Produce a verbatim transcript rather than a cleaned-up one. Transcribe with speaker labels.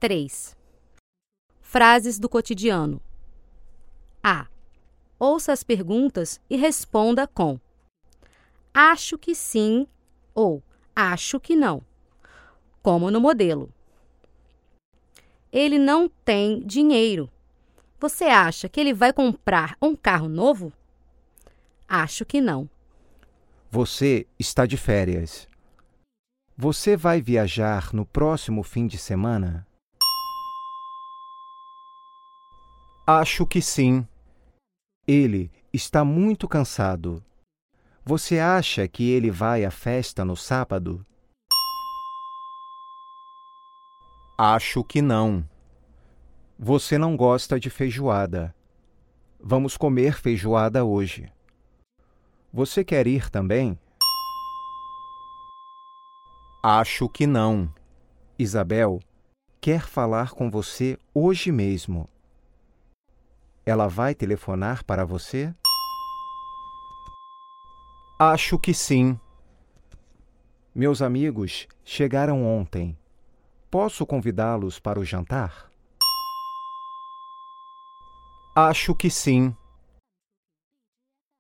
Speaker 1: três. Frases do cotidiano. A. Ouça as perguntas e responda com acho que sim ou acho que não, como no modelo. Ele não tem dinheiro. Você acha que ele vai comprar um carro novo? Acho que não.
Speaker 2: Você está de férias. Você vai viajar no próximo fim de semana? Acho que sim. Ele está muito cansado. Você acha que ele vai à festa no sábado? Acho que não. Você não gosta de feijoada. Vamos comer feijoada hoje. Você quer ir também? Acho que não. Isabel quer falar com você hoje mesmo. Ela vai telefonar para você? Acho que sim. Meus amigos chegaram ontem. Posso convidá-los para o jantar? Acho que sim.